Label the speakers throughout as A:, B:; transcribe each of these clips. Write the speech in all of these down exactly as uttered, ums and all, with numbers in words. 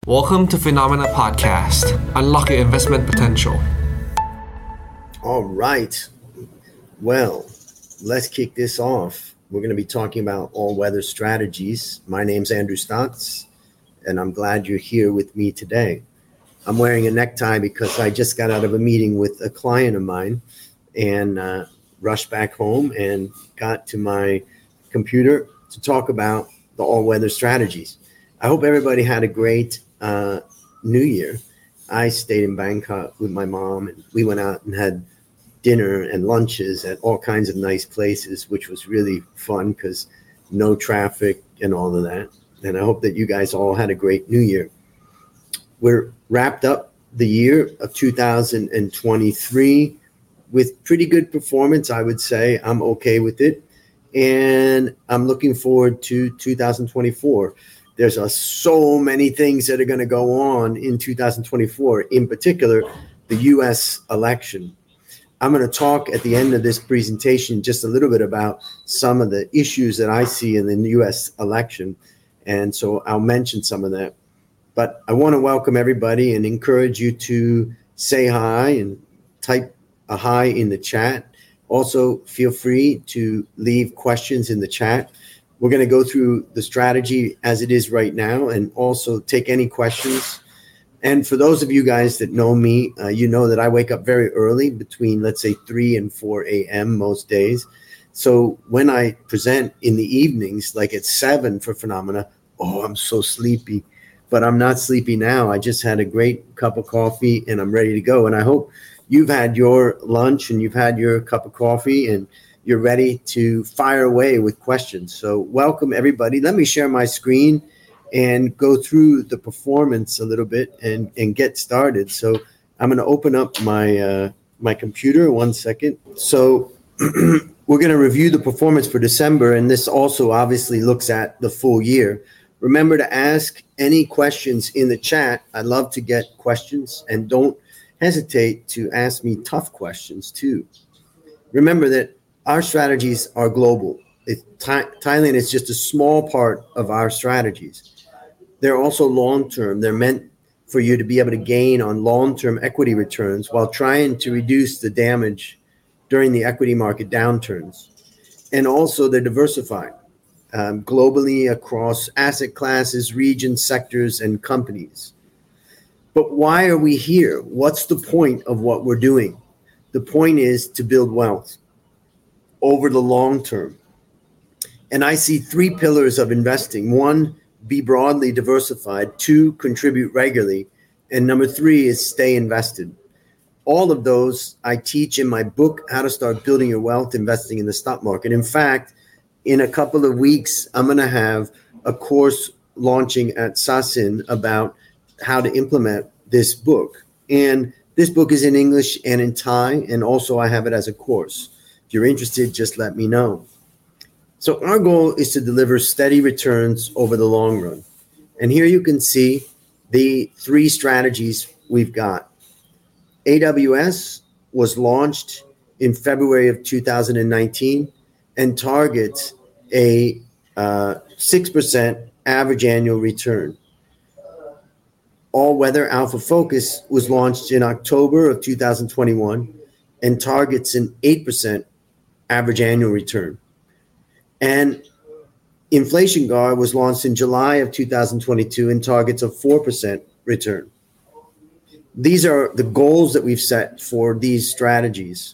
A: Welcome to Phenomena Podcast. Unlock your investment potential.
B: All right. Well, let's kick this off. We're going to be talking about all-weather strategies. My name's Andrew Stotz, and I'm glad you're here with me today. I'm wearing a necktie because I just got out of a meeting with a client of mine and uh, rushed back home and got to my computer to talk about the all-weather strategies. I hope everybody had a great uh, New Year. I stayed in Bangkok with my mom, and we went out and had dinner and lunches at all kinds of nice places, which was really fun because no traffic and all of that. And I hope that you guys all had a great New Year. We're wrapped up the year of two thousand twenty-three with pretty good performance, I would say. I'm okay with it. And I'm looking forward to two thousand twenty-four. There's uh, so many things that are going to go on in two thousand twenty-four, in particular, the U S election. I'm going to talk at the end of this presentation just a little bit about some of the issues that I see in the U S election. And so I'll mention some of that. But I want to welcome everybody and encourage you to say hi and type a hi in the chat. Also, feel free to leave questions in the chat. We're going to go through the strategy as it is right now and also take any questions. And for those of you guys that know me, uh, you know that I wake up very early between, let's say, three and four a.m. most days. So when I present in the evenings, like at seven for Phenomena, oh, I'm so sleepy. But I'm not sleepy now. I just had a great cup of coffee and I'm ready to go. And I hope you've had your lunch and you've had your cup of coffee and you're ready to fire away with questions. So welcome, everybody. Let me share my screen and go through the performance a little bit and, and get started. So I'm going to open up my, uh, my computer. One second. So we're going to review the performance for December. And this also obviously looks at the full year. Remember to ask any questions in the chat. I'd love to get questions, and don't hesitate to ask me tough questions too. Remember that our strategies are global. It, Th- Thailand is just a small part of our strategies. They're also long-term. They're meant for you to be able to gain on long-term equity returns while trying to reduce the damage during the equity market downturns. And also they're diversified. Um, globally across asset classes, regions, sectors, and companies. But why are we here? What's the point of what we're doing? The point is to build wealth over the long term. And I see three pillars of investing. One, be broadly diversified. Two, contribute regularly. And number three is stay invested. All of those I teach in my book, How to Start Building Your Wealth Investing in the Stock Market. In fact, in a couple of weeks, I'm going to have a course launching at Sasin about how to implement this book. And this book is in English and in Thai, and also I have it as a course. If you're interested, just let me know. So our goal is to deliver steady returns over the long run. And here you can see the three strategies we've got. A W S was launched in February of two thousand nineteen. And targets a uh, six percent average annual return. All Weather Alpha Focus was launched in October of two thousand twenty-one and targets an eight percent average annual return. And Inflation Guard was launched in July of two thousand twenty-two and targets a four percent return. These are the goals that we've set for these strategies.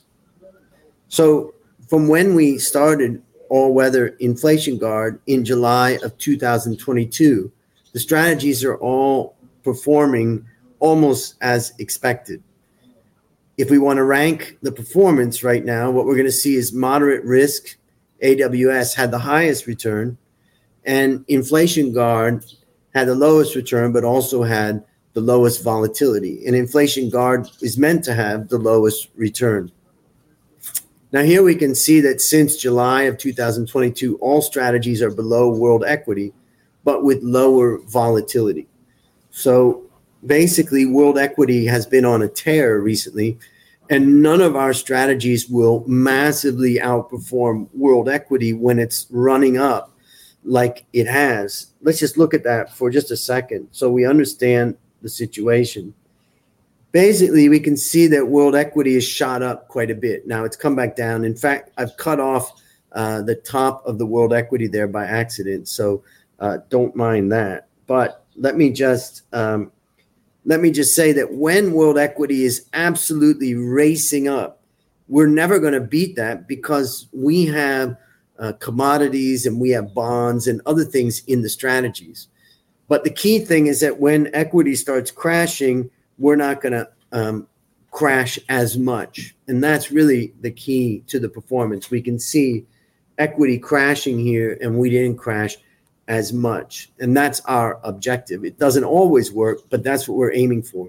B: So from when we started All Weather Inflation Guard in July of two thousand twenty-two, the strategies are all performing almost as expected. If we want to rank the performance right now, what we're going to see is moderate risk. A W S had the highest return, and Inflation Guard had the lowest return, but also had the lowest volatility. And Inflation Guard is meant to have the lowest return. Now, here we can see that since July of two thousand twenty-two, all strategies are below world equity, but with lower volatility. So basically, world equity has been on a tear recently, and none of our strategies will massively outperform world equity when it's running up like it has. Let's just look at that for just a second so we understand the situation. Basically, we can see that world equity has shot up quite a bit. Now it's come back down. In fact, I've cut off uh, the top of the world equity there by accident, so uh, don't mind that. But let me just um, let me just say that when world equity is absolutely racing up, we're never going to beat that because we have uh, commodities and we have bonds and other things in the strategies. But the key thing is that when equity starts crashing, we're not going to um, crash as much. And that's really the key to the performance. We can see equity crashing here and we didn't crash as much. And that's our objective. It doesn't always work, but that's what we're aiming for.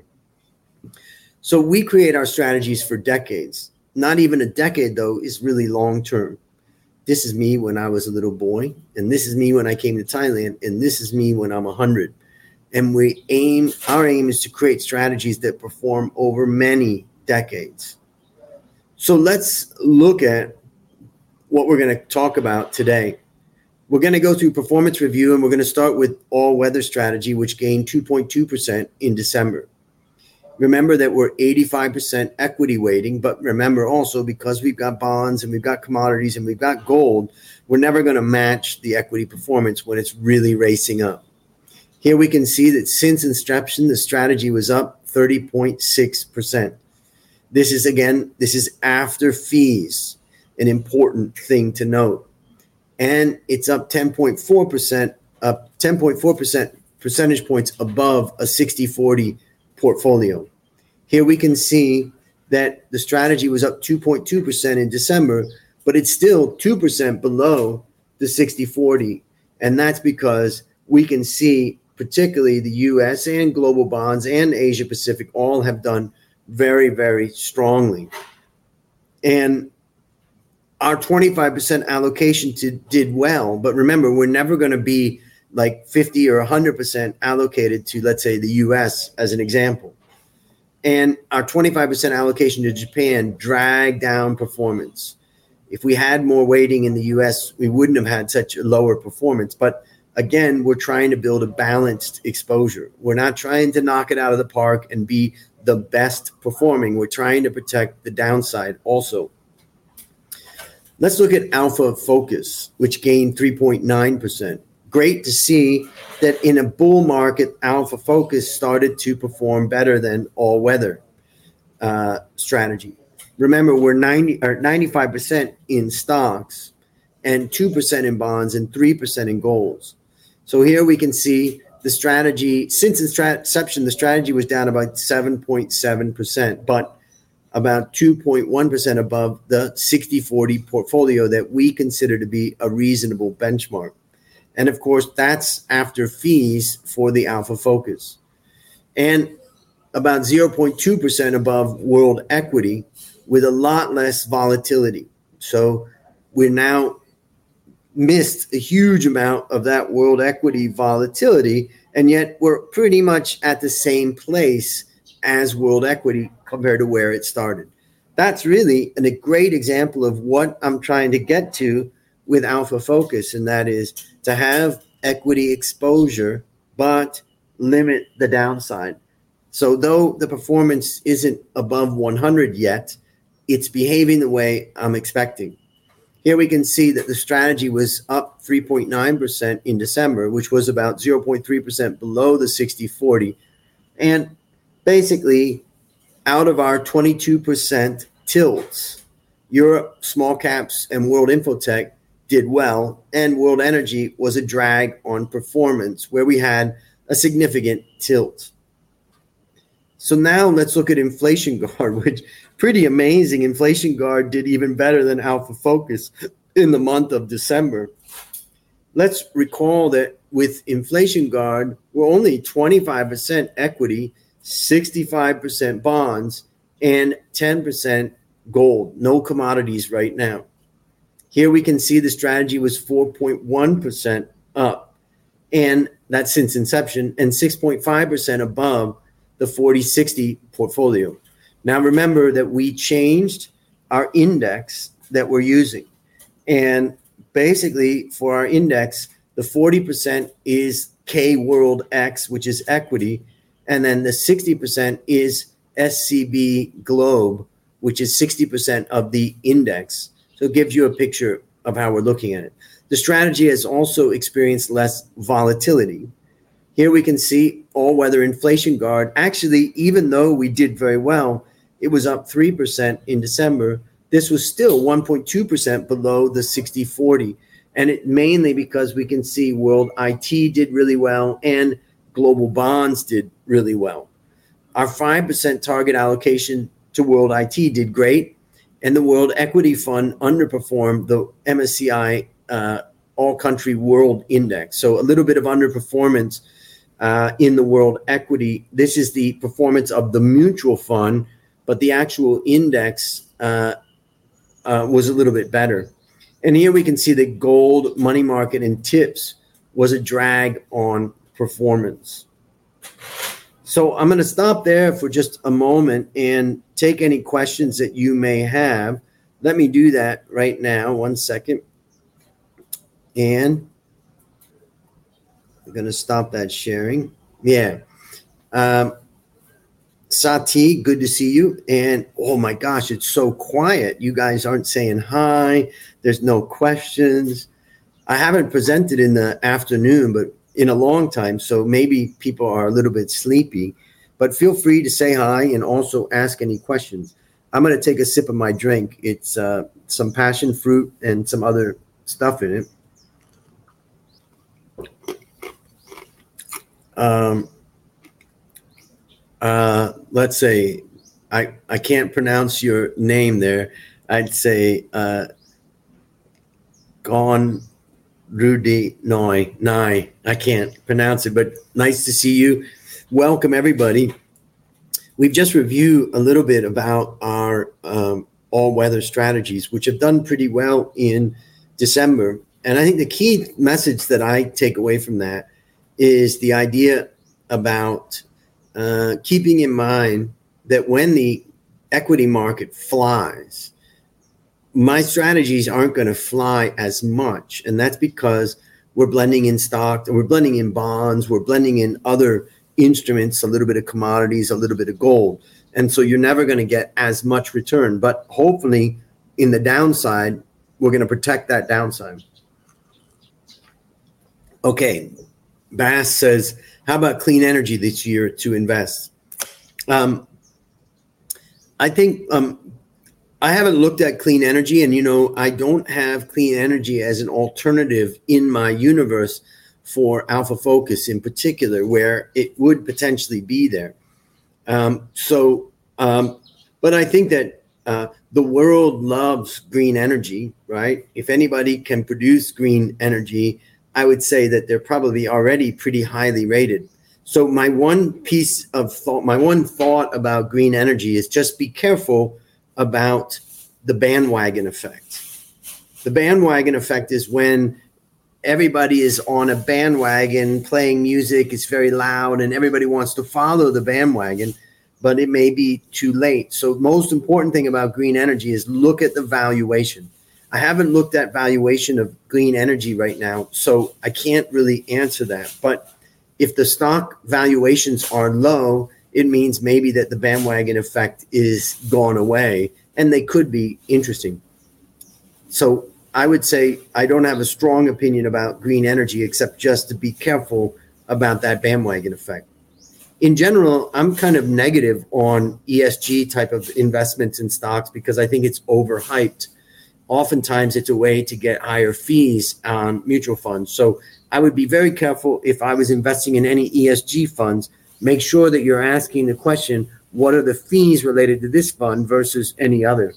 B: So we create our strategies for decades. Not even a decade, though, is really long term. This is me when I was a little boy, and this is me when I came to Thailand, and this is me when I'm one hundred. And we aim, our aim is to create strategies that perform over many decades. So let's look at what we're going to talk about today. We're going to go through performance review, and we're going to start with all-weather strategy, which gained two point two percent in December. Remember that we're eighty-five percent equity weighting, but remember also because we've got bonds and we've got commodities and we've got gold, we're never going to match the equity performance when it's really racing up. Here we can see that since inception, the strategy was up thirty point six percent. This is, again, this is after fees, an important thing to note. And it's up ten point four percent, up ten point four percent percentage points above a sixty forty portfolio. Here we can see that the strategy was up two point two percent in December, but it's still two percent below the sixty forty. And that's because we can see particularly the U S and global bonds and Asia Pacific all have done very, very strongly. And our twenty-five percent allocation to, did well, but remember, we're never going to be like fifty or one hundred percent allocated to, let's say, the U S as an example. And our twenty-five percent allocation to Japan dragged down performance. If we had more weighting in the U S, we wouldn't have had such a lower performance. But again, we're trying to build a balanced exposure. We're not trying to knock it out of the park and be the best performing. We're trying to protect the downside also. Let's look at Alpha Focus, which gained three point nine percent. Great to see that in a bull market, Alpha Focus started to perform better than all weather uh, strategy. Remember, we're ninety or ninety-five percent in stocks and two percent in bonds and three percent in golds. So here we can see the strategy, since inception, the strategy was down about seven point seven percent, but about two point one percent above the sixty forty portfolio that we consider to be a reasonable benchmark. And of course, that's after fees for the Alpha Focus. And about zero point two percent above world equity with a lot less volatility. So we're now missed a huge amount of that world equity volatility, and yet we're pretty much at the same place as world equity compared to where it started. That's really an, a great example of what I'm trying to get to with Alpha Focus, and that is to have equity exposure, but limit the downside. So though the performance isn't above one hundred yet, it's behaving the way I'm expecting. Here we can see that the strategy was up three point nine percent in December, which was about zero point three percent below the sixty forty. And basically, out of our twenty-two percent tilts, Europe, small caps, and World Infotech did well, and World Energy was a drag on performance where we had a significant tilt. So now let's look at Inflation Guard, which pretty amazing. Inflation Guard did even better than Alpha Focus in the month of December. Let's recall that with Inflation Guard, we're only twenty-five percent equity, sixty-five percent bonds, and ten percent gold. No commodities right now. Here we can see the strategy was four point one percent up, and that's since inception, and six point five percent above the forty sixty portfolio. Now remember that we changed our index that we're using. And basically for our index, The forty percent is K World X, which is equity. And then the sixty percent is S C B Globe, which is sixty percent of the index. So it gives you a picture of how we're looking at it. The strategy has also experienced less volatility. Here we can see all-weather inflation guard. Actually, even though we did very well, it was up three percent in December. This was still one point two percent below the sixty forty. And it mainly because we can see World I T did really well and global bonds did really well. Our five percent target allocation to World I T did great. And the World Equity Fund underperformed the M S C I uh, All Country World Index. So a little bit of underperformance uh, in the World Equity. This is the performance of the mutual fund, but the actual index uh, uh, was a little bit better. And here we can see that gold, money market, and tips was a drag on performance. So I'm going to stop there for just a moment and take any questions that you may have. Let me do that right now. One second. And I'm going to stop that sharing. Yeah. Um, Sati, good to see you. And oh my gosh, it's so quiet. You guys aren't saying hi. There's no questions. I haven't presented in the afternoon, but in a long time. So maybe people are a little bit sleepy, but feel free to say hi and also ask any questions. I'm going to take a sip of my drink. It's uh, some passion fruit and some other stuff in it. Um, uh, let's say, I, I can't pronounce your name there. I'd say uh, Gone Rudy Noi, Nai. I can't pronounce it, but nice to see you. Welcome, everybody. We've just reviewed a little bit about our um, all-weather strategies, which have done pretty well in December. And I think the key message that I take away from that is the idea about uh, keeping in mind that when the equity market flies, my strategies aren't going to fly as much. And that's because we're blending in stock, we're blending in bonds, we're blending in other instruments, a little bit of commodities, a little bit of gold. And so you're never going to get as much return. But hopefully in the downside, we're going to protect that downside. Okay. Bass says, how about clean energy this year to invest? Um, I think um, I haven't looked at clean energy, and, you know, I don't have clean energy as an alternative in my universe for Alpha Focus in particular, where it would potentially be there. Um, so, um, but I think that uh, the world loves green energy, right? If anybody can produce green energy, I would say that they're probably already pretty highly rated. So my one piece of thought, my one thought about green energy is just be careful about the bandwagon effect. The bandwagon effect is when everybody is on a bandwagon playing music, it's very loud, and everybody wants to follow the bandwagon, but it may be too late. So most important thing about green energy is look at the valuation. I haven't looked at valuation of green energy right now, so I can't really answer that. But if the stock valuations are low, it means maybe that the bandwagon effect is gone away, and they could be interesting. So I would say I don't have a strong opinion about green energy, except just to be careful about that bandwagon effect. In general, I'm kind of negative on E S G type of investments in stocks because I think it's overhyped. Oftentimes it's a way to get higher fees on mutual funds. So I would be very careful if I was investing in any E S G funds. Make sure that you're asking the question, what are the fees related to this fund versus any other?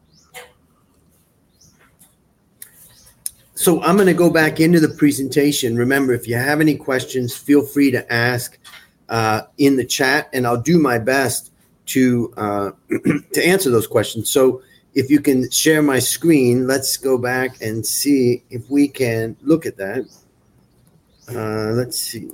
B: So I'm going to go back into the presentation. Remember, if you have any questions, feel free to ask uh, in the chat, and I'll do my best to uh, to answer those questions. So if you can share my screen, let's go back and see if we can look at that. Uh, let's see.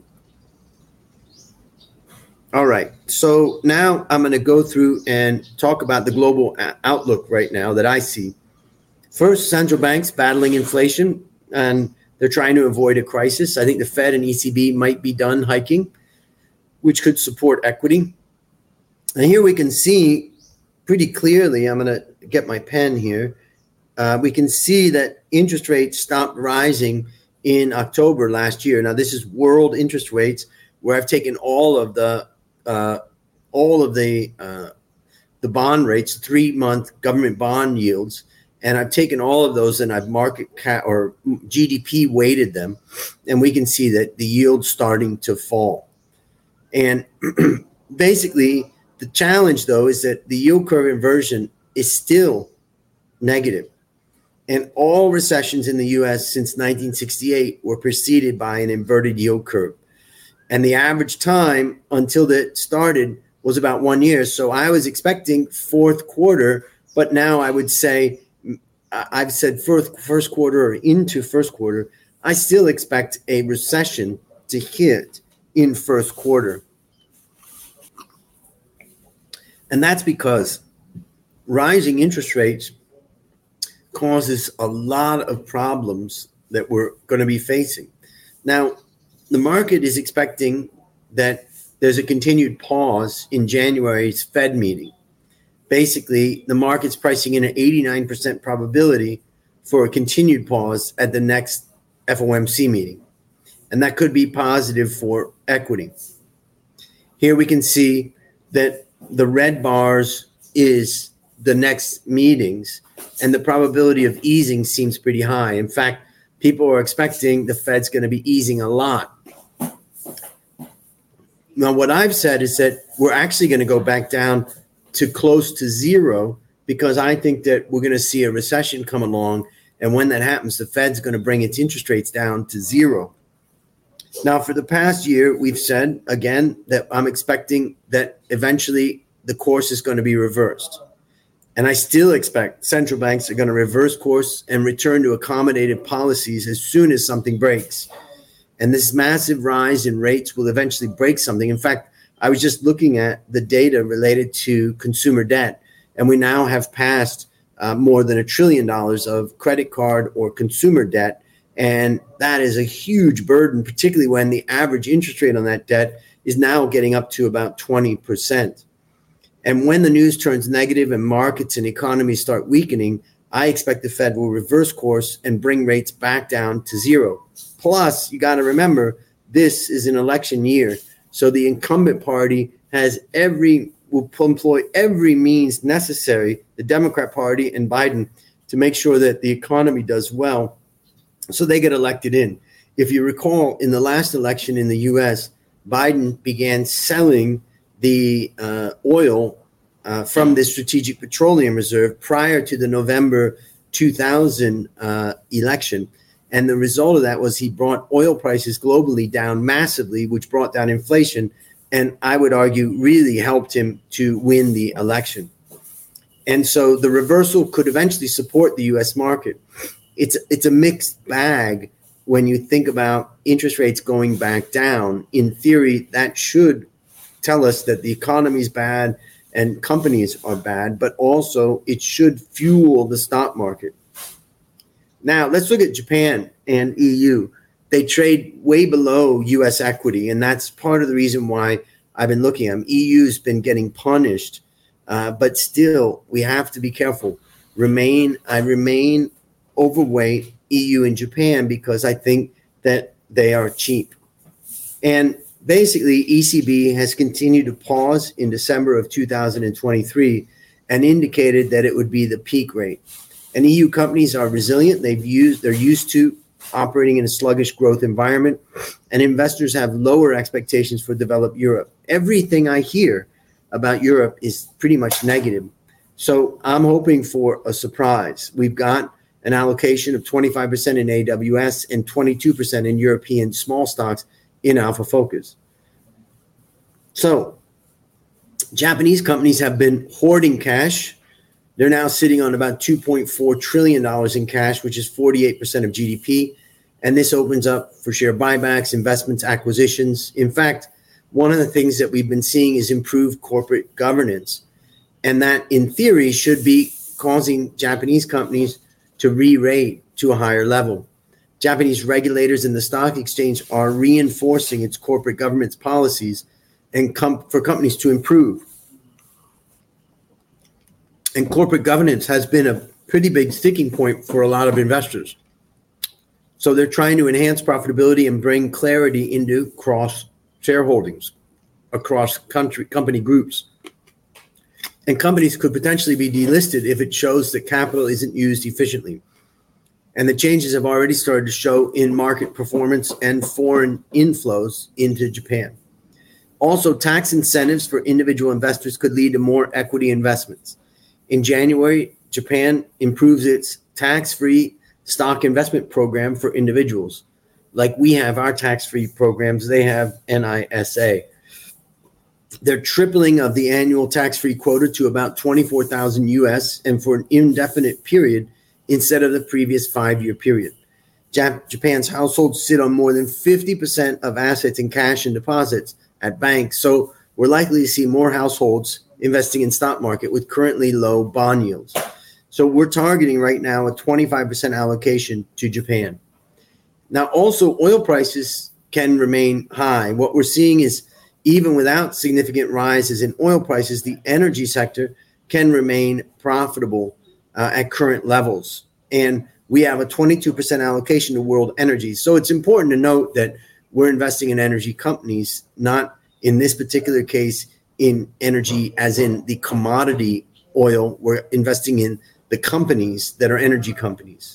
B: All right. So now I'm going to go through and talk about the global outlook right now that I see. First, central banks battling inflation, and They're trying to avoid a crisis. I think the Fed and E C B might be done hiking, which could support equity. And here we can see pretty clearly, I'm going to get my pen here. Uh, we can see that interest rates stopped rising in October last year. Now, this is world interest rates, where I've taken all of the uh, all of the uh, the bond rates, three-month government bond yields, and I've taken all of those and I've market cap or G D P weighted them, and we can see that the yield's starting to fall. And basically, the challenge, though, is that the yield curve inversion is still negative. And all recessions in the U S since nineteen sixty-eight were preceded by an inverted yield curve. And the average time until that started was about one year. So I was expecting fourth quarter, but now I would say, I've said first, first quarter or into first quarter, I still expect a recession to hit in first quarter. And that's because rising interest rates causes a lot of problems that we're going to be facing. Now, the market is expecting that there's a continued pause in January's Fed meeting. Basically, the market's pricing in an eighty-nine percent probability for a continued pause at the next F O M C meeting. And that could be positive for equity. Here we can see that the red bars is the next meetings, and the probability of easing seems pretty high. In fact, people are expecting the Fed's going to be easing a lot. Now, what I've said is that we're actually going to go back down to close to zero, because I think that we're going to see a recession come along. And when that happens, the Fed's going to bring its interest rates down to zero. Now, for the past year, we've said, again, that I'm expecting that eventually the course is going to be reversed. And I still expect central banks are going to reverse course and return to accommodative policies as soon as something breaks. And this massive rise in rates will eventually break something. In fact, I was just looking at the data related to consumer debt, and we now have passed uh, more than a trillion dollars of credit card or consumer debt. And that is a huge burden, particularly when the average interest rate on that debt is now getting up to about twenty percent. And when the news turns negative and markets and economies start weakening, I expect the Fed will reverse course and bring rates back down to zero. Plus, you got to remember, this is an election year. So the incumbent party has every, will employ every means necessary, the Democrat Party and Biden, to make sure that the economy does well so they get elected in. If you recall, in the last election in the U S, Biden began selling the uh, oil uh, from the Strategic Petroleum Reserve prior to the November two thousand uh, election. And the result of that was he brought oil prices globally down massively, which brought down inflation, and I would argue really helped him to win the election. And so the reversal could eventually support the U S market. It's, it's a mixed bag when you think about interest rates going back down. In theory, that should tell us that the economy is bad and companies are bad, but also it should fuel the stock market. Now, let's look at Japan and E U. They trade way below U S equity, and that's part of the reason why I've been looking at them. E U's been getting punished, uh, but still, we have to be careful. Remain, I remain overweight E U and Japan because I think that they are cheap. And basically, E C B has continued to pause in December of two thousand twenty-three and indicated that it would be the peak rate. And E U companies are resilient. They've used, they're used to operating in a sluggish growth environment, and investors have lower expectations for developed Europe. Everything I hear about Europe is pretty much negative. So I'm hoping for a surprise. We've got an allocation of twenty-five percent in A W S and twenty-two percent in European small stocks in Alpha Focus. So Japanese companies have been hoarding cash. They're now sitting on about two point four trillion dollars in cash, which is forty-eight percent of G D P. And this opens up for share buybacks, investments, acquisitions. In fact, one of the things that we've been seeing is improved corporate governance. And that, in theory, should be causing Japanese companies to re-rate to a higher level. Japanese regulators and the stock exchange are reinforcing its corporate governance policies and com- for companies to improve. And corporate governance has been a pretty big sticking point for a lot of investors. So they're trying to enhance profitability and bring clarity into cross shareholdings across country company groups. And companies could potentially be delisted if it shows that capital isn't used efficiently. And the changes have already started to show in market performance and foreign inflows into Japan. Also, tax incentives for individual investors could lead to more equity investments. In January, Japan improves its tax-free stock investment program for individuals. Like we have our tax-free programs, they have N I S A. They're tripling of the annual tax-free quota to about twenty-four thousand U S and for an indefinite period instead of the previous five-year period. Jap- Japan's households sit on more than fifty percent of assets in cash and deposits at banks, so we're likely to see more households investing in stock market with currently low bond yields. So we're targeting right now a twenty-five percent allocation to Japan. Now, also, oil prices can remain high. What we're seeing is even without significant rises in oil prices, the energy sector can remain profitable uh, at current levels. And we have a twenty-two percent allocation to world energy. So it's important to note that we're investing in energy companies, not in this particular case in energy as in the commodity oil. We're investing in the companies that are energy companies.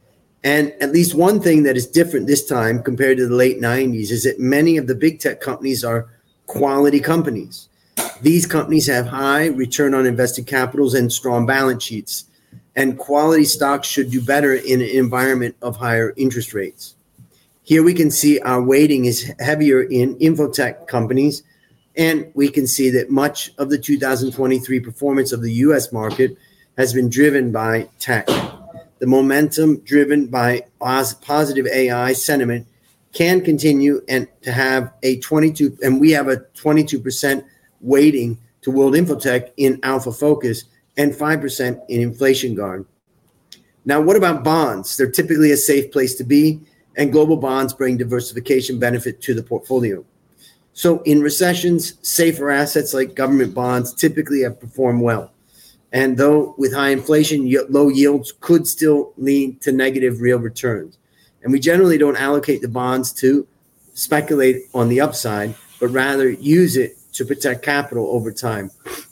B: And at least one thing that is different this time compared to the late nineties is that many of the big tech companies are quality companies. These companies have high return on invested capitals and strong balance sheets. And quality stocks should do better in an environment of higher interest rates. Here we can see our weighting is heavier in infotech companies, and we can see that much of the two thousand twenty-three performance of the U S market has been driven by tech. The momentum driven by positive A I sentiment can continue and to have a twenty-two, and we have a twenty-two percent weighting to World Infotech in Alpha Focus and five percent in Inflation Guard. Now, what about bonds? They're typically a safe place to be, and global bonds bring diversification benefit to the portfolio. So in recessions, safer assets like government bonds typically have performed well. And though with high inflation, low yields could still lead to negative real returns. And we generally don't allocate the bonds to speculate on the upside, but rather use it to protect capital over time.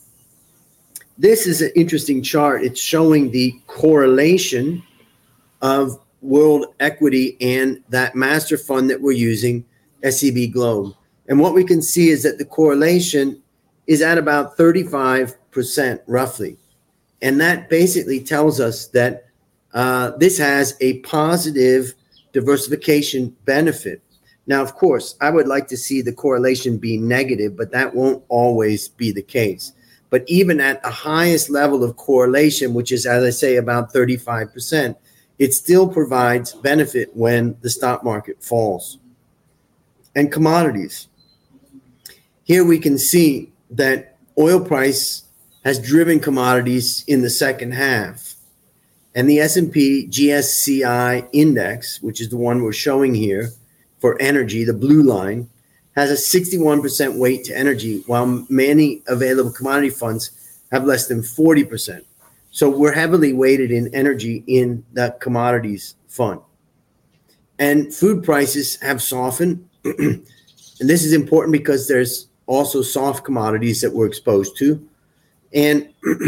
B: This is an interesting chart. It's showing the correlation of world equity and that master fund that we're using, S E B Globe. And what we can see is that the correlation is at about thirty-five percent roughly. And that basically tells us that uh, this has a positive diversification benefit. Now, of course, I would like to see the correlation be negative, but that won't always be the case. But even at the highest level of correlation, which is, as I say, about thirty-five percent, it still provides benefit when the stock market falls. And commodities. Here we can see that oil price has driven commodities in the second half. And the S and P G S C I index, which is the one we're showing here for energy, the blue line, has a sixty-one percent weight to energy, while many available commodity funds have less than forty percent. So we're heavily weighted in energy in the commodities fund. And food prices have softened. And this is important because there's also soft commodities that we're exposed to. And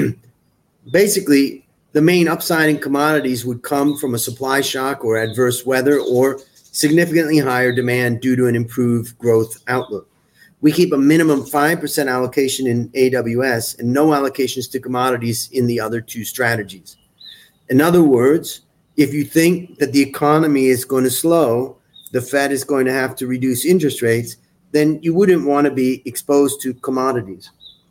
B: basically, the main upside in commodities would come from a supply shock or adverse weather or significantly higher demand due to an improved growth outlook. We keep a minimum five percent allocation in A W S and no allocations to commodities in the other two strategies. In other words, if you think that the economy is going to slow, the Fed is going to have to reduce interest rates, then you wouldn't want to be exposed to commodities.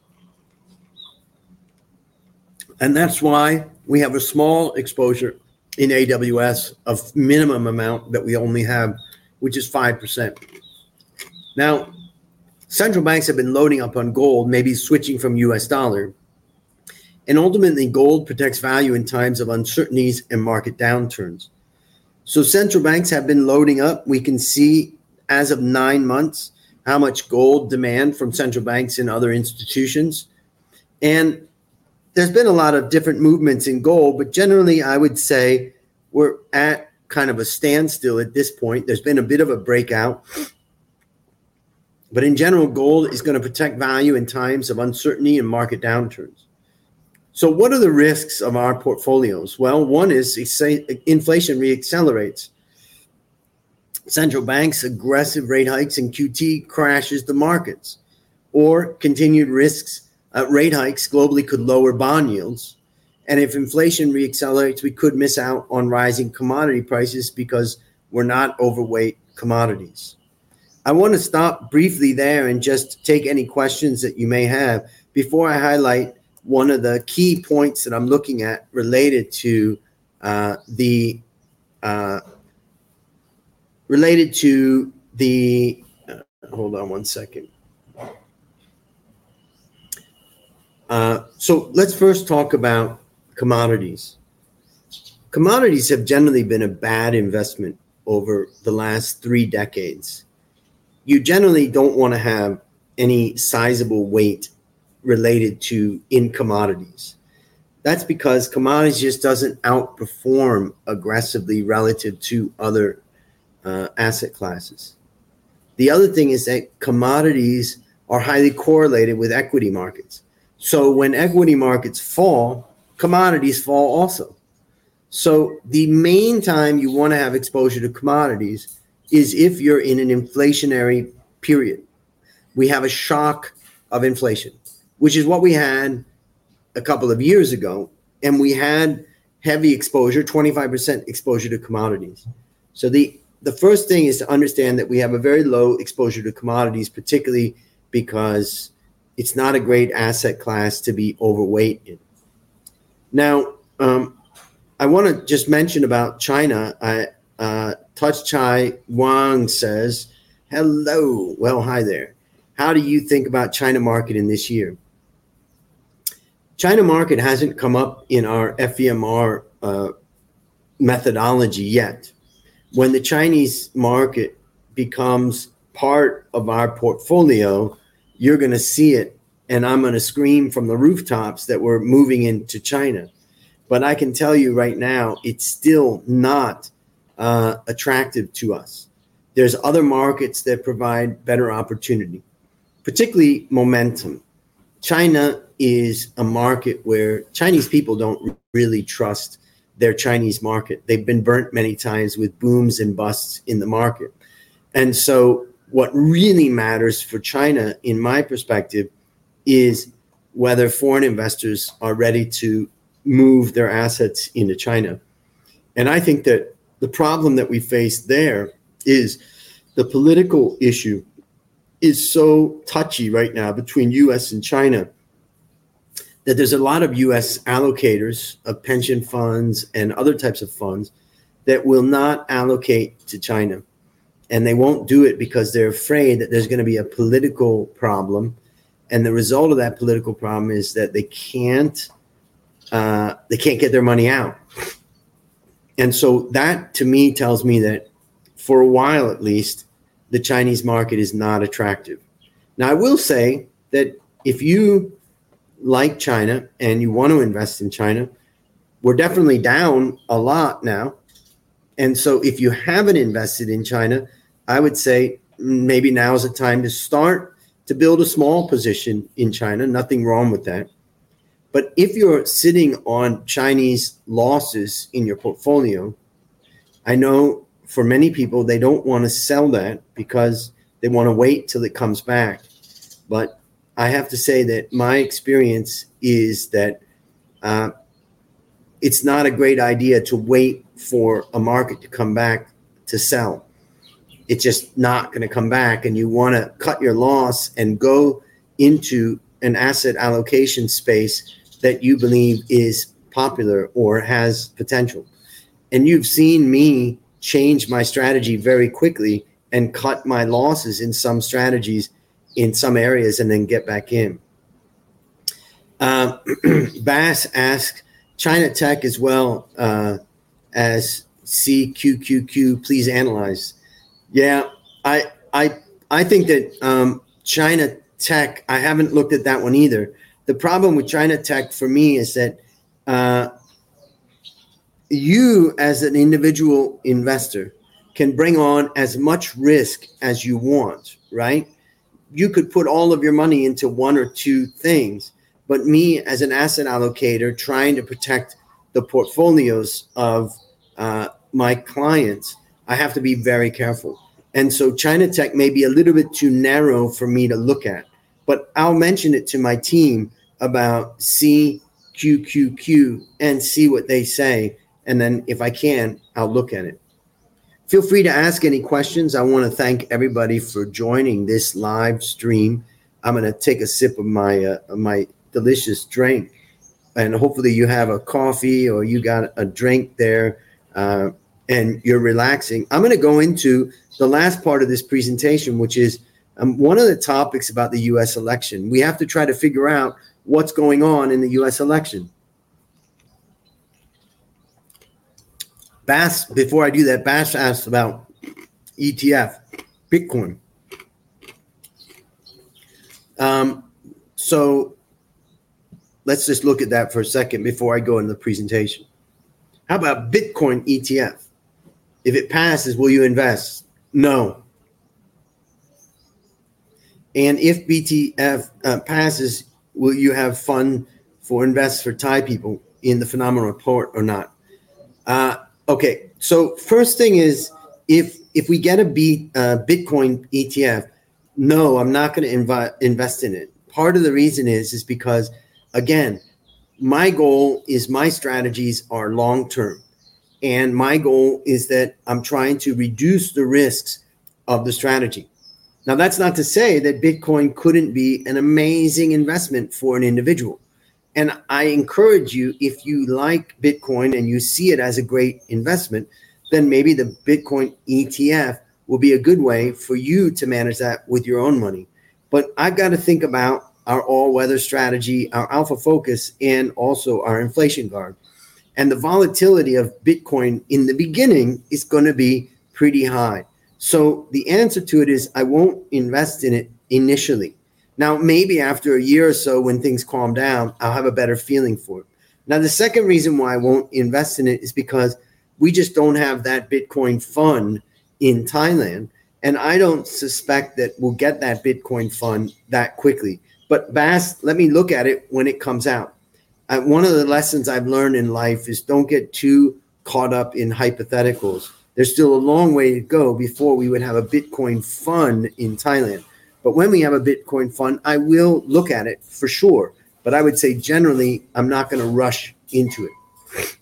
B: And that's why we have a small exposure in A W S of minimum amount that we only have, which is five percent. Now, central banks have been loading up on gold, maybe switching from U S dollar. And ultimately, gold protects value in times of uncertainties and market downturns. So central banks have been loading up. We can see as of nine months how much gold demand from central banks and other institutions. And there's been a lot of different movements in gold, but generally I would say we're at kind of a standstill at this point. There's been a bit of a breakout. But in general, gold is going to protect value in times of uncertainty and market downturns. So what are the risks of our portfolios? Well, one is inflation reaccelerates. Central banks' aggressive rate hikes and Q T crashes the markets. Or continued risks, uh, rate hikes globally could lower bond yields. And if inflation reaccelerates, we could miss out on rising commodity prices because we're not overweight commodities. I want to stop briefly there and just take any questions that you may have before I highlight one of the key points that I'm looking at related to uh, the uh, related to the. Uh, hold on one second. Uh, so let's first talk about commodities. Commodities have generally been a bad investment over the last three decades. You generally don't want to have any sizable weight related to in commodities. That's because commodities just doesn't outperform aggressively relative to other uh, asset classes. The other thing is that commodities are highly correlated with equity markets. So when equity markets fall, commodities fall also. So the main time you want to have exposure to commodities is if you're in an inflationary period. We have a shock of inflation, which is what we had a couple of years ago. And we had heavy exposure, twenty-five percent exposure to commodities. So the, the first thing is to understand that we have a very low exposure to commodities, particularly because it's not a great asset class to be overweight in. Now, um, I want to just mention about China. I, uh, Touch Chai Wang says, hello. Well, hi there. How do you think about China market in this year? China market hasn't come up in our F E M R uh, methodology yet. When the Chinese market becomes part of our portfolio, you're going to see it, and I'm going to scream from the rooftops that we're moving into China. But I can tell you right now, it's still not uh, attractive to us. There's other markets that provide better opportunity, particularly momentum. China is a market where Chinese people don't really trust their Chinese market. They've been burnt many times with booms and busts in the market. And so what really matters for China, in my perspective, is whether foreign investors are ready to move their assets into China. And I think that the problem that we face there is the political issue is so touchy right now between U S and China that there's a lot of U S allocators of pension funds and other types of funds that will not allocate to China. And they won't do it because they're afraid that there's going to be a political problem. And the result of that political problem is that they can't uh, they can't get their money out. And so that, to me, tells me that for a while, at least, the Chinese market is not attractive. Now, I will say that if you like China and you want to invest in China, we're definitely down a lot now. And so if you haven't invested in China, I would say maybe now is the time to start to build a small position in China. Nothing wrong with that. But if you're sitting on Chinese losses in your portfolio, I know for many people, they don't want to sell that because they want to wait till it comes back. But I have to say that my experience is that uh, it's not a great idea to wait for a market to come back to sell. It's just not going to come back, and you want to cut your loss and go into an asset allocation space that you believe is popular or has potential. And you've seen me change my strategy very quickly and cut my losses in some strategies in some areas and then get back in. Uh, Bass asked, China Tech as well uh, as C Q Q Q, please analyze. Yeah, I I I think that um, China Tech, I haven't looked at that one either. The problem with China Tech for me is that uh, you as an individual investor can bring on as much risk as you want, right? You could put all of your money into one or two things, but me as an asset allocator trying to protect the portfolios of uh, my clients, I have to be very careful. And so China Tech may be a little bit too narrow for me to look at, but I'll mention it to my team about C Q Q Q and see what they say. And then if I can, I'll look at it. Feel free to ask any questions. I want to thank everybody for joining this live stream. I'm going to take a sip of my uh, my delicious drink, and hopefully you have a coffee or you got a drink there uh, and you're relaxing. I'm going to go into the last part of this presentation, which is um, one of the topics about the U S election. We have to try to figure out what's going on in the U S election. Bass, before I do that, Bass asked about E T F, Bitcoin. Um, so let's just look at that for a second before I go into the presentation. How about Bitcoin E T F? If it passes, will you invest? No. And if B T F uh, passes, will you have fun for invest for Thai people in the phenomenal report or not? Uh, okay, so first thing is, if if we get a B, uh, Bitcoin E T F, no, I'm not going to invi- invest in it. Part of the reason is is because, again, my goal is my strategies are long term, and my goal is that I'm trying to reduce the risks of the strategy. Now, that's not to say that Bitcoin couldn't be an amazing investment for an individual. And I encourage you, if you like Bitcoin and you see it as a great investment, then maybe the Bitcoin E T F will be a good way for you to manage that with your own money. But I've got to think about our all-weather strategy, our alpha focus, and also our inflation guard. And the volatility of Bitcoin in the beginning is going to be pretty high. So the answer to it is I won't invest in it initially. Now, maybe after a year or so when things calm down, I'll have a better feeling for it. Now, the second reason why I won't invest in it is because we just don't have that Bitcoin fund in Thailand. And I don't suspect that we'll get that Bitcoin fund that quickly. But Bass, let me look at it when it comes out. Uh, one of the lessons I've learned in life is don't get too caught up in hypotheticals. There's still a long way to go before we would have a Bitcoin fund in Thailand. But when we have a Bitcoin fund, I will look at it for sure. But I would say generally, I'm not going to rush into it.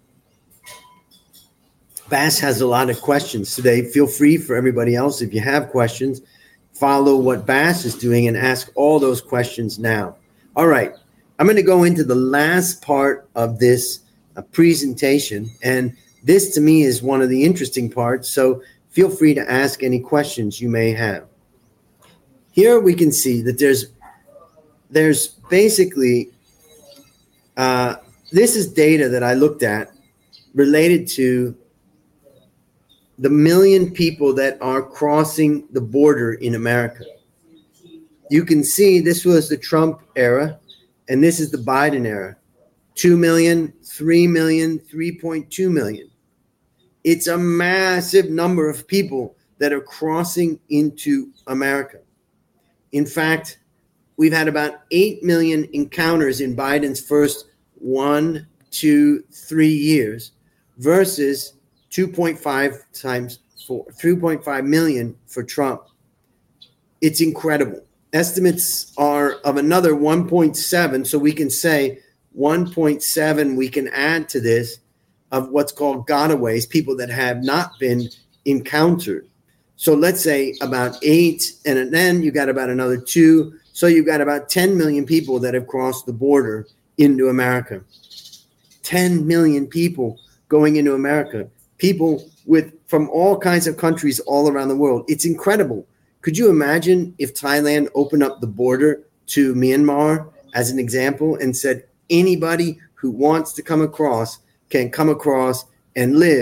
B: Bass has a lot of questions today. Feel free for everybody else, if you have questions, follow what Bass is doing and ask all those questions now. All right. I'm going to go into the last part of this uh, presentation. And this, to me, is one of the interesting parts. So feel free to ask any questions you may have. Here we can see that there's there's basically, uh, this is data that I looked at related to the million people that are crossing the border in America. You can see this was the Trump era, and this is the Biden era. two million, three million, three point two million. It's a massive number of people that are crossing into America. In fact, we've had about eight million encounters in Biden's first one, two, three years versus two point five times four, three point five million for Trump. It's incredible. Estimates are of another one point seven, so we can say one point seven we can add to this of what's called gotaways, people that have not been encountered. So let's say about eight, and then you got about another two. So you've got about ten million people that have crossed the border into America. ten million people going into America. People with from all kinds of countries all around the world. It's incredible. Could you imagine if Thailand opened up the border to Myanmar as an example and said anybody who wants to come across can come across and live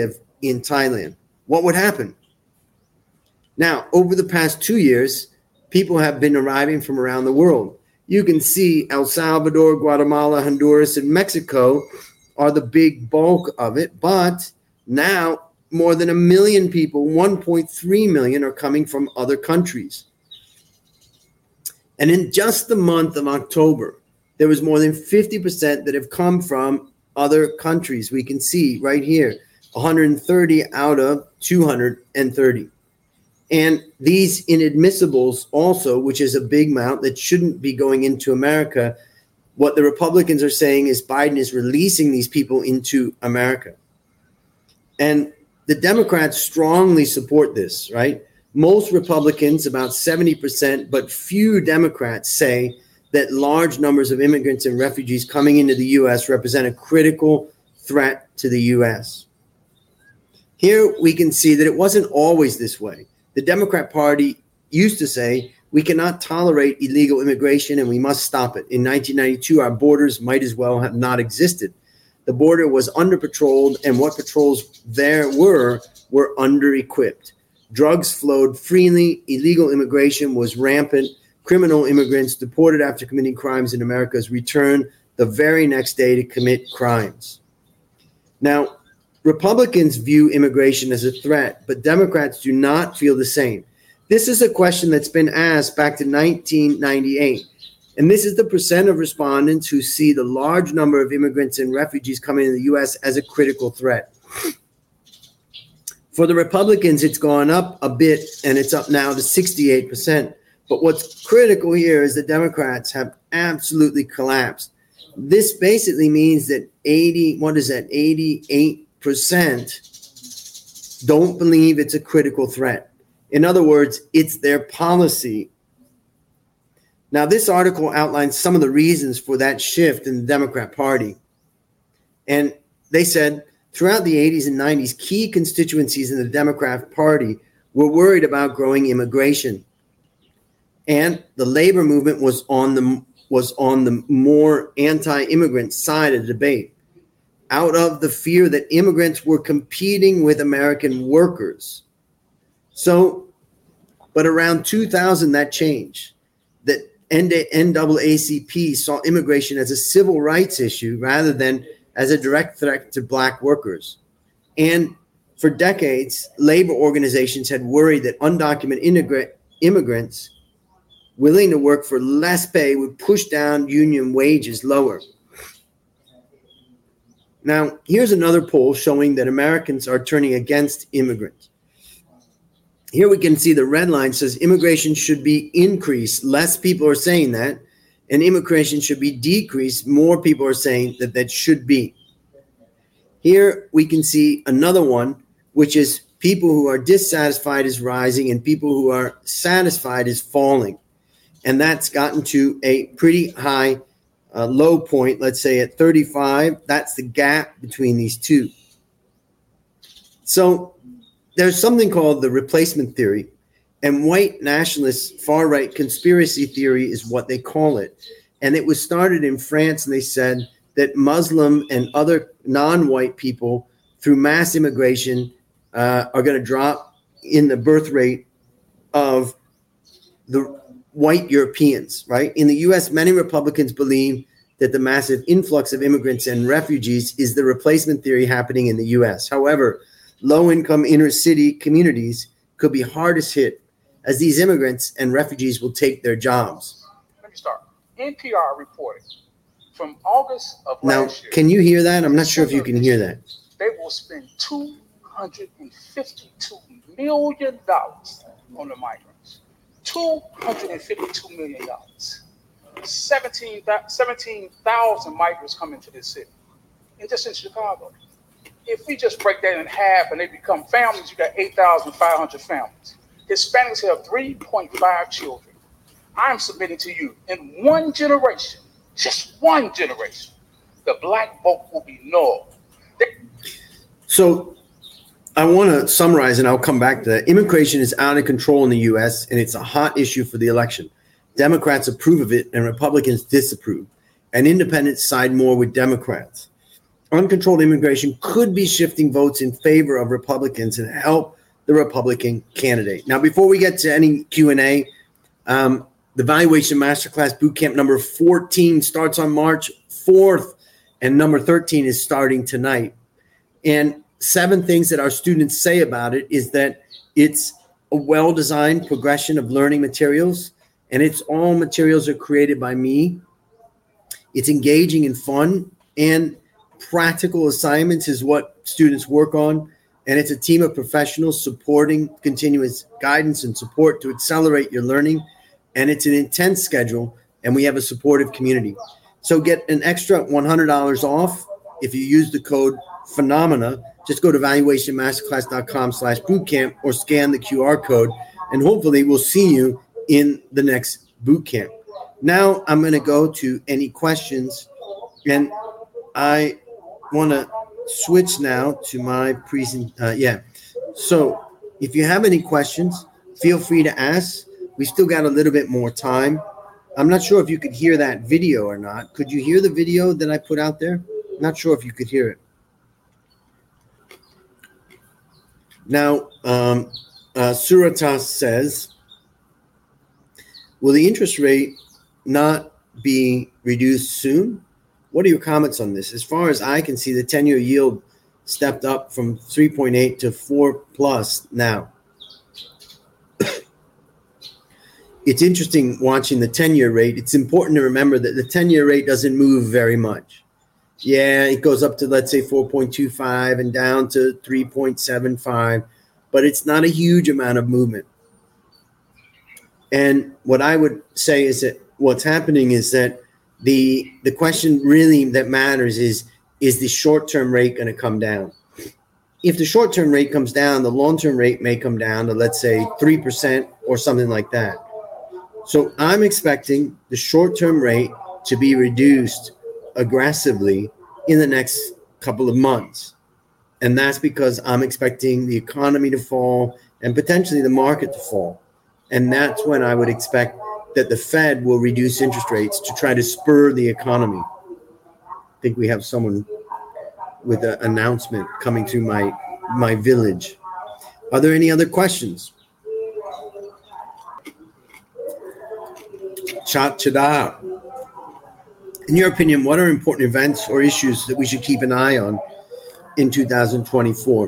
B: in Thailand. What would happen? Now, over the past two years, people have been arriving from around the world. You can see El Salvador, Guatemala, Honduras, and Mexico are the big bulk of it. But now more than a million people, one point three million, are coming from other countries. And in just the month of October, there was more than fifty percent that have come from other countries. We can see right here, one hundred thirty out of two hundred thirty. And these inadmissibles also, which is a big amount that shouldn't be going into America, what the Republicans are saying is Biden is releasing these people into America. And the Democrats strongly support this, right? Most Republicans, about seventy percent, but few Democrats say that large numbers of immigrants and refugees coming into the U S represent a critical threat to the U S. Here we can see that it wasn't always this way. The Democrat Party used to say, we cannot tolerate illegal immigration and we must stop it. In nineteen ninety-two, our borders might as well have not existed. The border was under-patrolled, and what patrols there were, were under-equipped. Drugs flowed freely, illegal immigration was rampant, criminal immigrants deported after committing crimes in America's returned the very next day to commit crimes. Now, Republicans view immigration as a threat, but Democrats do not feel the same. This is a question that's been asked back to nineteen ninety-eight. And this is the percent of respondents who see the large number of immigrants and refugees coming to the U S as a critical threat. For the Republicans, it's gone up a bit, and it's up now to sixty-eight percent. But what's critical here is the Democrats have absolutely collapsed. This basically means that eighty, what is that, eighty-eight percent don't believe it's a critical threat. In other words, it's their policy. Now, this article outlines some of the reasons for that shift in the Democrat Party. And they said throughout the eighties and nineties, key constituencies in the Democrat Party were worried about growing immigration. And the labor movement was on the, was on the more anti-immigrant side of the debate, out of the fear that immigrants were competing with American workers. So, but around two thousand, that changed. That N double A C P saw immigration as a civil rights issue rather than as a direct threat to black workers. And for decades, labor organizations had worried that undocumented immigrant, immigrants willing to work for less pay would push down union wages lower. Now, here's another poll showing that Americans are turning against immigrants. Here we can see the red line says immigration should be increased. Less people are saying that. And immigration should be decreased. More people are saying that that should be. Here we can see another one, which is people who are dissatisfied is rising and people who are satisfied is falling. And that's gotten to a pretty high uh, low point, let's say at thirty-five. That's the gap between these two. So there's something called the replacement theory, and white nationalist far-right conspiracy theory is what they call it. And it was started in France, and they said that Muslim and other non-white people, through mass immigration, uh, are going to drop in the birth rate of the white Europeans, right? In the U S, many Republicans believe that the massive influx of immigrants and refugees is the replacement theory happening in the U S. However, low-income inner-city communities could be hardest hit as these immigrants and refugees will take their jobs.
C: Let me start. N P R reported from August of
B: now,
C: last year.
B: Can you hear that? I'm not sure if you can hear that.
C: They will spend two hundred fifty-two million dollars on the migrants. two hundred fifty-two million dollars. seventeen thousand migrants come into this city, and just in Chicago. If we just break that in half and they become families, you got eight thousand five hundred families. Hispanics have three point five children. I'm submitting to you, in one generation, just one generation, the black vote will be null. They-
B: so I want to summarize, and I'll come back to that. Immigration is out of control in the U S, and it's a hot issue for the election. Democrats approve of it, and Republicans disapprove. And independents side more with Democrats. uncontrolled immigration could be shifting votes in favor of Republicans and help the Republican candidate. Now, before we get to any Q and A, um, the Valuation Masterclass Bootcamp number fourteen starts on March fourth, and number thirteen is starting tonight. And seven things that our students say about it is that it's a well-designed progression of learning materials, and it's all materials are created by me. It's engaging and fun, and practical assignments is what students work on. And it's a team of professionals supporting continuous guidance and support to accelerate your learning. And it's an intense schedule, and we have a supportive community. So get an extra one hundred dollars off if you use the code PHENOMENA. Just go to valuationmasterclass.com slash bootcamp or scan the Q R code, and hopefully we'll see you in the next bootcamp. Now I'm going to go to any questions, and I want to switch now to my present. Uh, yeah. So if you have any questions, feel free to ask. We still got a little bit more time. I'm not sure if you could hear that video or not. Could you hear the video that I put out there? Not sure if you could hear it. Now, um, uh, Suratas says, will the interest rate not be reduced soon? What are your comments on this? As far as I can see, the ten-year yield stepped up from three point eight to four plus now. It's interesting watching the ten-year rate. It's important to remember that the ten-year rate doesn't move very much. Yeah, it goes up to, let's say, four point two five and down to three point seven five, but it's not a huge amount of movement. And what I would say is that what's happening is that the the question really that matters is, is the short-term rate going to come down? If the short-term rate comes down, the long-term rate may come down to, let's say, three percent or something like that. So I'm expecting the short-term rate to be reduced aggressively in the next couple of months. And that's because I'm expecting the economy to fall and potentially the market to fall. And that's when I would expect that the Fed will reduce interest rates to try to spur the economy. I think we have someone with an announcement coming through my, my village. Are there any other questions? Chat Chada. In your opinion, what are important events or issues that we should keep an eye on in two thousand twenty-four?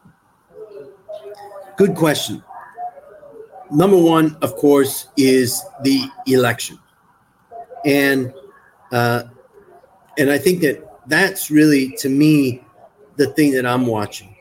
B: Good question. Number one, of course, is the election. And uh, and I think that that's really, to me, the thing that I'm watching.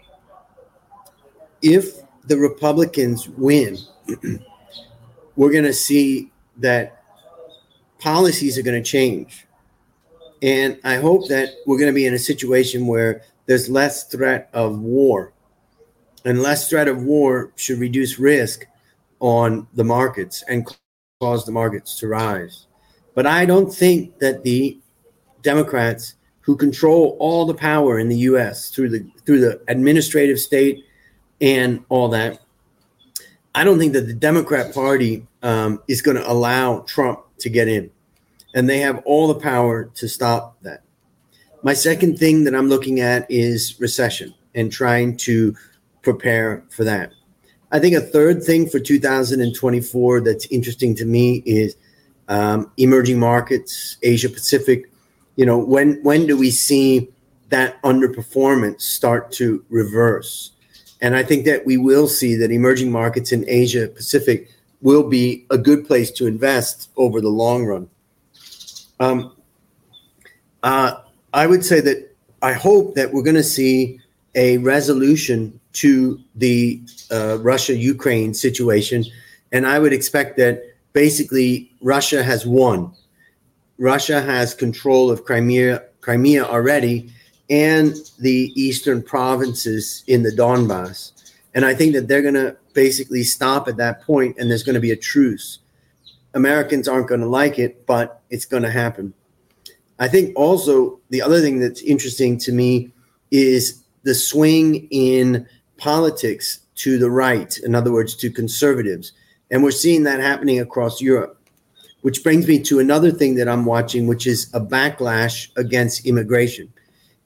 B: If the Republicans win, we're going to see that policies are going to change. And I hope that we're going to be in a situation where there's less threat of war. And less threat of war should reduce risk on the markets and cause the markets to rise. But I don't think that the Democrats, who control all the power in the U S through the through the administrative state and all that, I don't think that the Democrat Party um, is going to allow Trump to get in. And they have all the power to stop that. My second thing that I'm looking at is recession and trying to prepare for that. I think a third thing for two thousand twenty-four that's interesting to me is um, emerging markets, Asia Pacific. You know, when when do we see that underperformance start to reverse? And I think that we will see that emerging markets in Asia Pacific will be a good place to invest over the long run. Um, uh, I would say that I hope that we're going to see a resolution to the uh, Russia-Ukraine situation. And I would expect that basically Russia has won. Russia has control of Crimea, Crimea already, and the eastern provinces in the Donbass. And I think that they're going to basically stop at that point, and there's going to be a truce. Americans aren't going to like it, but it's going to happen. I think also the other thing that's interesting to me is the swing in politics to the right, in other words, to conservatives. And we're seeing that happening across Europe, which brings me to another thing that I'm watching, which is a backlash against immigration.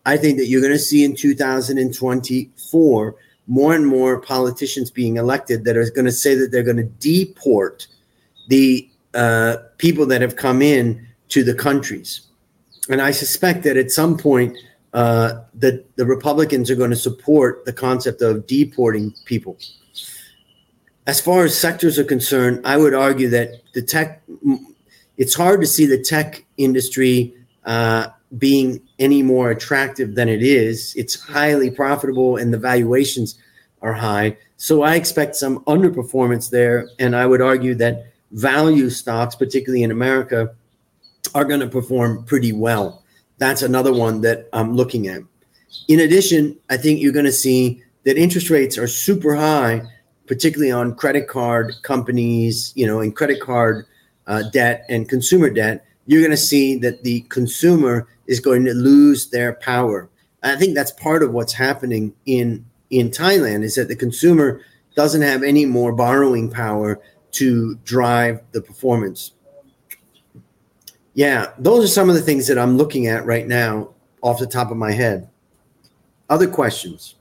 B: I think that you're going to see in two thousand twenty-four more and more politicians being elected that are going to say that they're going to deport the uh, people that have come in to the countries. And I suspect that at some point uh, that the Republicans are going to support the concept of deporting people. As far as sectors are concerned, I would argue that the tech, it's hard to see the tech industry uh, being any more attractive than it is. It's highly profitable and the valuations are high. So I expect some underperformance there. And I would argue that value stocks, particularly in America, are going to perform pretty well. That's another one that I'm looking at. In addition, I think you're going to see that interest rates are super high, particularly on credit card companies, you know, and credit card uh, debt and consumer debt. You're going to see that the consumer is going to lose their power. I think that's part of what's happening in, in Thailand, is that the consumer doesn't have any more borrowing power to drive the performance. Yeah, those are some of the things that I'm looking at right now off the top of my head. Other questions?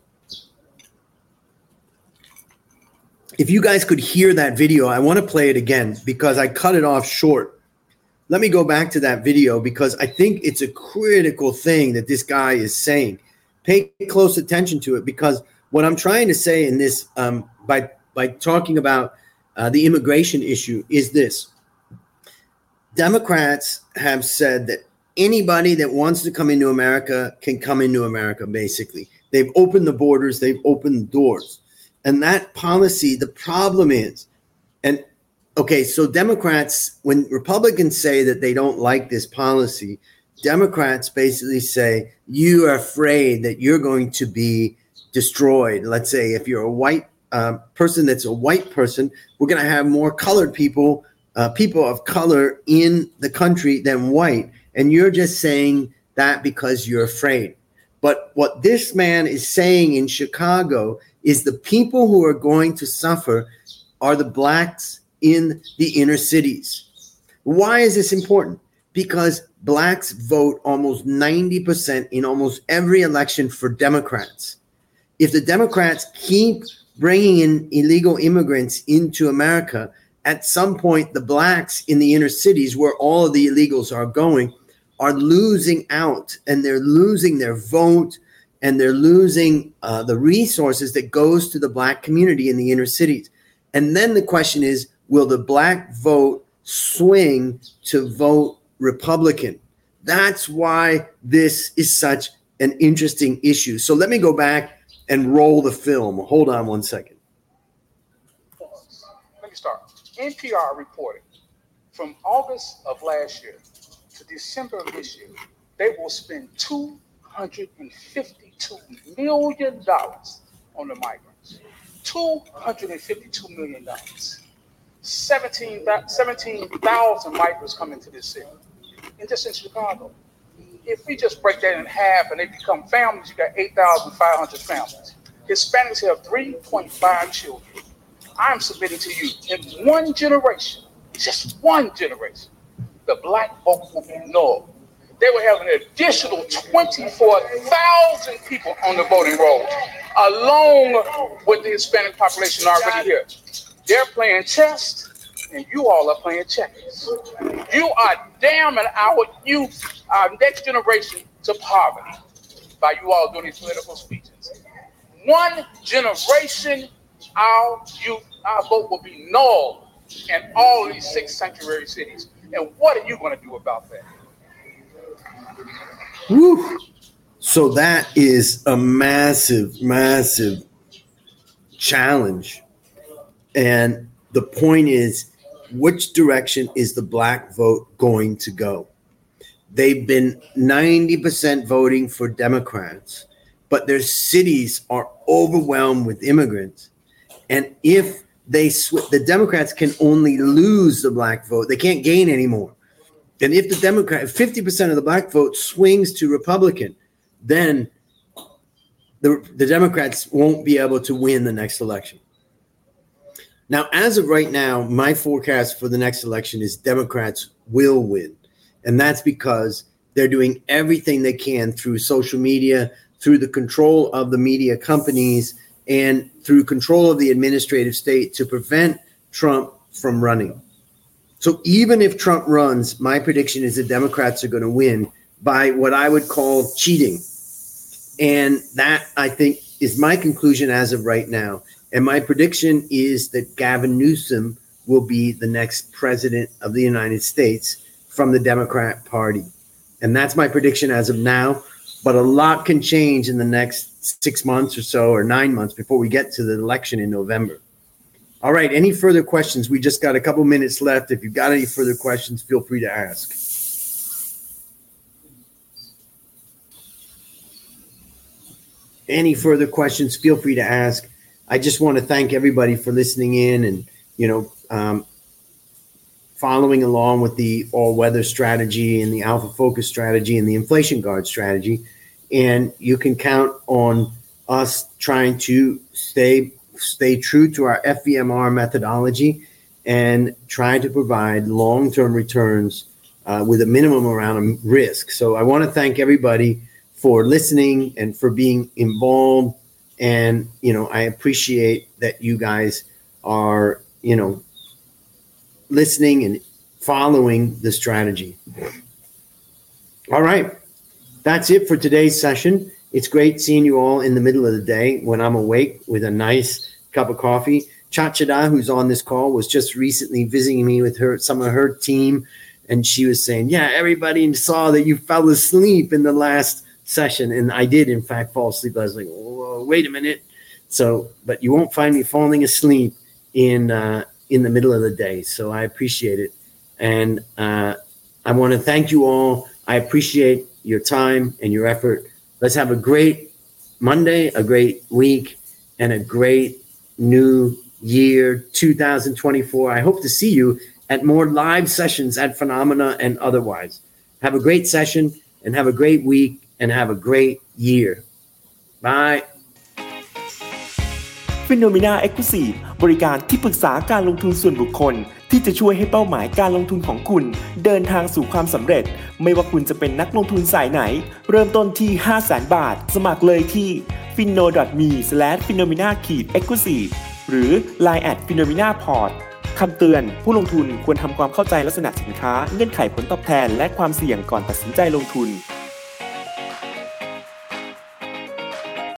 B: If you guys could hear that video, I want to play it again because I cut it off short. Let me go back to that video because I think it's a critical thing that this guy is saying. Pay close attention to it, because what I'm trying to say in this, um, by, by talking about uh, the immigration issue, is this. Democrats have said that anybody that wants to come into America can come into America, basically. They've opened the borders. They've opened the doors. And that policy, the problem is, and okay, so Democrats, when Republicans say that they don't like this policy, Democrats basically say, you are afraid that you're going to be destroyed. Let's say if you're a white uh, person that's a white person, we're going to have more colored people, uh, people of color in the country than white. And you're just saying that because you're afraid. But what this man is saying in Chicago is the people who are going to suffer are the blacks in the inner cities. Why is this important? Because blacks vote almost ninety percent in almost every election for Democrats. If the Democrats keep bringing in illegal immigrants into America, at some point the blacks in the inner cities, where all of the illegals are going, are losing out, and they're losing their vote, and they're losing uh, the resources that goes to the black community in the inner cities. And then the question is, will the black vote swing to vote Republican? That's why this is such an interesting issue. So let me go back and roll the film. Hold on one second.
C: Let me start. N P R reported from August of last year to December of this year, they will spend two hundred fifty-two million dollars on the migrants. two hundred fifty-two million dollars. seventeen thousand migrants come into this city, and just in Chicago. If we just break that in half and they become families, you got eight thousand five hundred families. Hispanics have three point five children. I'm submitting to you, in one generation, just one generation, the black vote will be null. They will have an additional twenty-four thousand people on the voting roll, along with the Hispanic population already here. They're playing chess, and you all are playing checkers. You are damning our youth, our next generation, to poverty by you all doing these political speeches. One generation, our youth, our vote will be null in all of these six sanctuary cities. And what are you going to do about that?
B: Woo. So that is a massive, massive challenge. And the point is, which direction is the black vote going to go? They've been ninety percent voting for Democrats, but their cities are overwhelmed with immigrants. And if they sw- the Democrats can only lose the black vote, they can't gain anymore. And if the Democrat, fifty percent of the black vote swings to Republican, then the, the Democrats won't be able to win the next election. Now, as of right now, my forecast for the next election is Democrats will win. And that's because They're doing everything they can through social media, through the control of the media companies, and through control of the administrative state to prevent Trump from running. So even if Trump runs, my prediction is the Democrats are going to win by what I would call cheating. And that, I think, is my conclusion as of right now. And my prediction is that Gavin Newsom will be the next president of the United States from the Democrat Party. And that's my prediction as of now. But a lot can change in the next six months or so, or nine months before we get to the election in November. All right, any further questions? We just got a couple minutes left. If you've got any further questions, feel free to ask. Any further questions, feel free to ask. I just want to thank everybody for listening in and, you know, um, following along with the all-weather strategy and the Alpha Focus strategy and the Inflation Guard strategy. And you can count on us trying to stay stay true to our F V M R methodology and try to provide long-term returns uh, with a minimum amount of risk. So I want to thank everybody for listening and for being involved. And, you know, I appreciate that you guys are, you know, listening and following the strategy. All right. That's it for today's session. It's great seeing you all in the middle of the day when I'm awake with a nice cup of coffee. Chachada, who's on this call, was just recently visiting me with her, some of her team. And she was saying, yeah, everybody saw that you fell asleep in the last session. And I did, in fact, fall asleep. I was like, whoa, wait a minute. So, but you won't find me falling asleep in, uh, in the middle of the day. So I appreciate it. And uh, I want to thank you all. I appreciate your time and your effort. Let's have a great Monday, a great week, and a great new year, two thousand twenty-four. I hope to see you at more live sessions at Phenomena and otherwise. Have a great session and have a great week and have a great year. Bye.
D: Phenomena Exclusive บริการที่ปรึกษาการลงทุนส่วนบุคคลที่จะช่วยให้เป้าหมายการลงทุนของคุณเดินทางสู่ความสำเร็จไม่ว่าคุณจะเป็นนักลงทุนสายไหนเริ่มต้นที่ ห้าแสน บาทสมัครเลยที่ ฟินโน ดอท มี สแลช ฟีโนเมนา เอ็กซ์คลูซีฟ หรือ ไลน์ แอท ฟีโนเมนา พอร์ต คำเตือนผู้ลงทุนควรทำความเข้าใจลักษณะสินค้าเงื่อนไขผลตอบแทนและความเสี่ยงก่อนตัดสินใจลงทุน